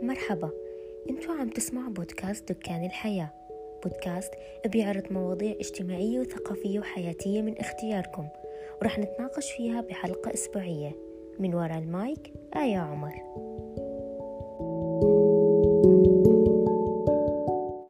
مرحبا، انتوا عم تسمعوا بودكاست دكان الحياة. بودكاست بيعرض مواضيع اجتماعية وثقافية وحياتية من اختياركم، ورح نتناقش فيها بحلقة أسبوعية. من وراء المايك آية عمر.